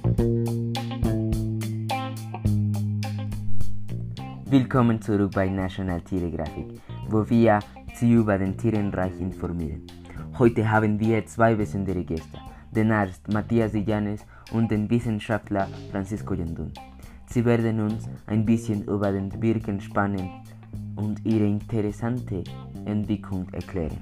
Willkommen zurück bei National Tiergeografik, wo wir Sie über den Tierenreich informieren. Heute haben wir zwei besondere Gäste, den Arzt Matthias Illanes und den Wissenschaftler Francisco Yandún. Sie werden uns ein bisschen über den Birkenspannen und ihre interessante Entwicklung erklären.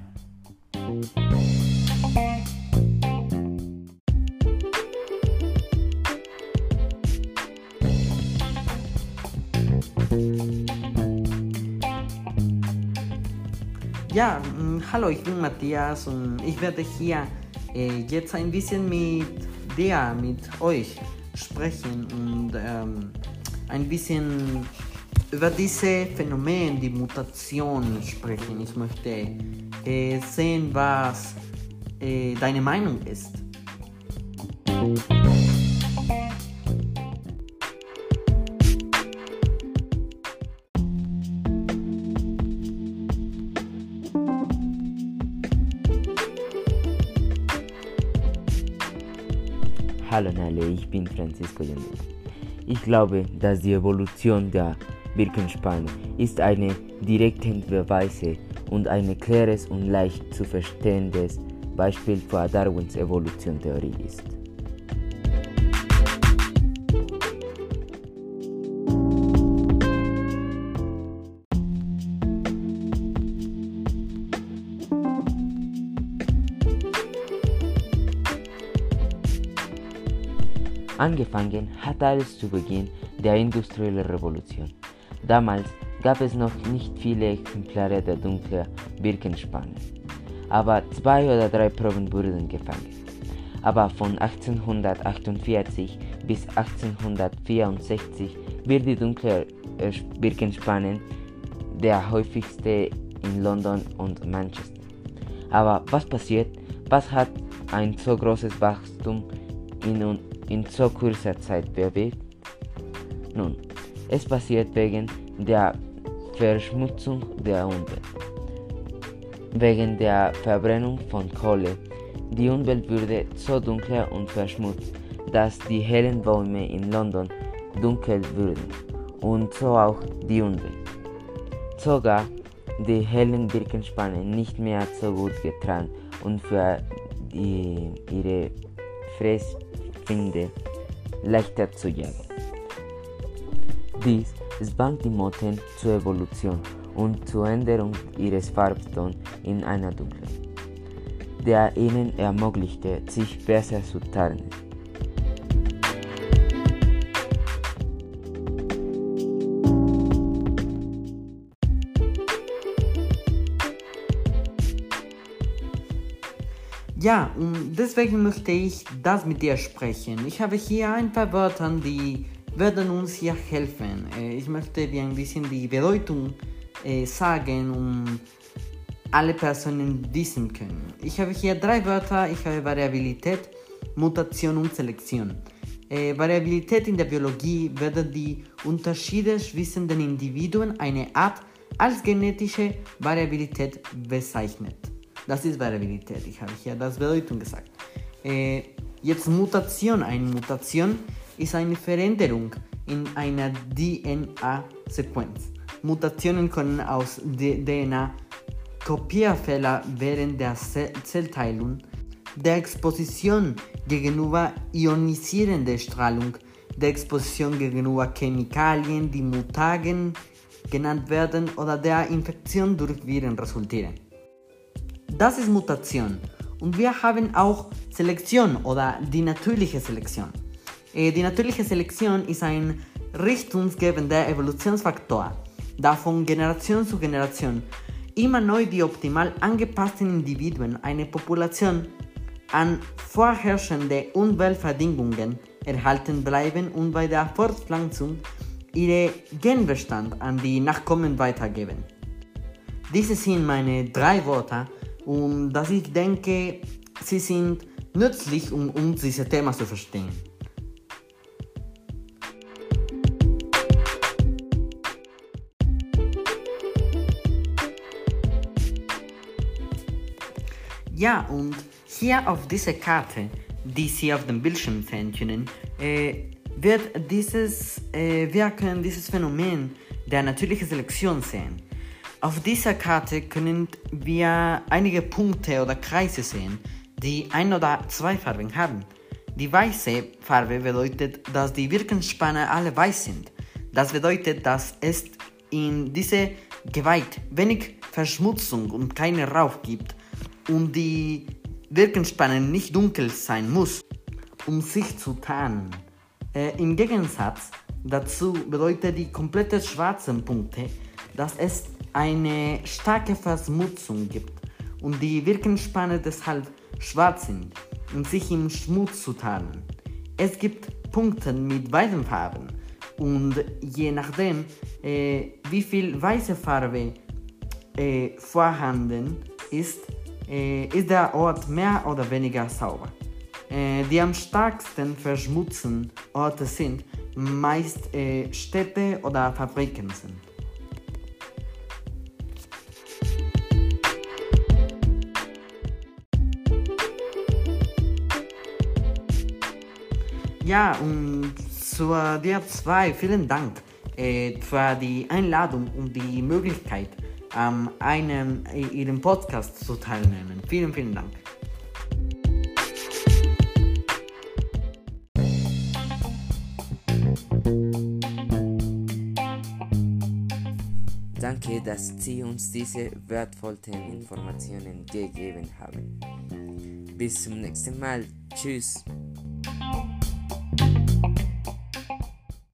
Ja, hallo, ich bin Matthias und ich werde hier jetzt ein bisschen mit euch sprechen und ein bisschen über diese Phänomen, die Mutation sprechen. Ich möchte sehen, was deine Meinung ist. Hallo alle, ich bin Francisco Yandún. Ich glaube, dass die Evolution der Birkenspanne ist eine direkte Beweise und ein klares und leicht zu verstehendes Beispiel für Darwins Evolutionstheorie ist. Angefangen hat alles zu Beginn der industriellen Revolution. Damals gab es noch nicht viele Exemplare der dunklen Birkenspanne, aber 2 oder 3 Proben wurden gefangen. Aber von 1848 bis 1864 wird die dunkle Birkenspanne der häufigste in London und Manchester. Aber was passiert? Was hat ein so großes Wachstum in so kurzer Zeit bewegt? Nun, es passiert wegen der Verschmutzung der Umwelt. Wegen der Verbrennung von Kohle. Die Umwelt wurde so dunkel und verschmutzt, dass die hellen Bäume in London dunkel wurden und so auch die Umwelt. Sogar die hellen Birkenspannen nicht mehr so gut getragen und für ihre Fressfinde leichter zu jagen. Dies zwang die Motten zur Evolution und zur Änderung ihres Farbtons in einer dunklen, der ihnen ermöglichte, sich besser zu tarnen. Ja, und deswegen möchte ich das mit dir sprechen. Ich habe hier ein paar Wörter, die werden uns hier helfen. Ich möchte dir ein bisschen die Bedeutung sagen, um alle Personen wissen können. Ich habe hier 3 Wörter. Ich habe Variabilität, Mutation und Selektion. Variabilität in der Biologie werden die Unterschiede zwischen den Individuen einer Art als genetische Variabilität bezeichnet. Das ist Variabilität. Ich habe hier das Bedeutung gesagt. Jetzt Mutation. Eine Mutation ist eine Veränderung in einer DNA-Sequenz. Mutationen können aus DNA-Kopierfehler während der Zellteilung, der Exposition gegenüber ionisierender Strahlung, der Exposition gegenüber Chemikalien, die Mutagen genannt werden, oder der Infektion durch Viren resultieren. Das ist Mutation. Und wir haben auch Selektion oder die natürliche Selektion. Die natürliche Selektion ist ein richtungsgebender Evolutionsfaktor, da von Generation zu Generation immer neu die optimal angepassten Individuen einer Population an vorherrschende Umweltbedingungen erhalten bleiben und bei der Fortpflanzung ihren Genbestand an die Nachkommen weitergeben. Diese sind meine 3 Worte, und dass ich denke, sie sind nützlich, um dieses Thema zu verstehen. Ja, und hier auf dieser Karte die Sie auf dem Bildschirm sehen können, wird wir können dieses Phänomen der natürlichen Selektion sehen. Auf dieser Karte können wir einige Punkte oder Kreise sehen, die ein oder zwei Farben haben. Die weiße Farbe bedeutet, dass die Wirkungsspanne alle weiß sind. Das bedeutet, dass es in diese Gewalt wenig Verschmutzung und keinen Rauch gibt und die Wirkungsspanne nicht dunkel sein muss, um sich zu tarnen. Im Gegensatz dazu bedeutet die komplette schwarzen Punkte, dass es eine starke Verschmutzung gibt und die Wirkungsspanne deshalb schwarz sind, um sich im Schmutz zu tarnen. Es gibt Punkte mit weißen Farben und je nachdem, wie viel weiße Farbe vorhanden ist, ist der Ort mehr oder weniger sauber. Die am stärksten verschmutzten Orte sind meist Städte oder Fabriken sind. Ja, und zu dir zwei, vielen Dank für die Einladung und die Möglichkeit, an Ihrem Podcast zu teilnehmen. Vielen, vielen Dank. Danke, dass Sie uns diese wertvollen Informationen gegeben haben. Bis zum nächsten Mal. Tschüss.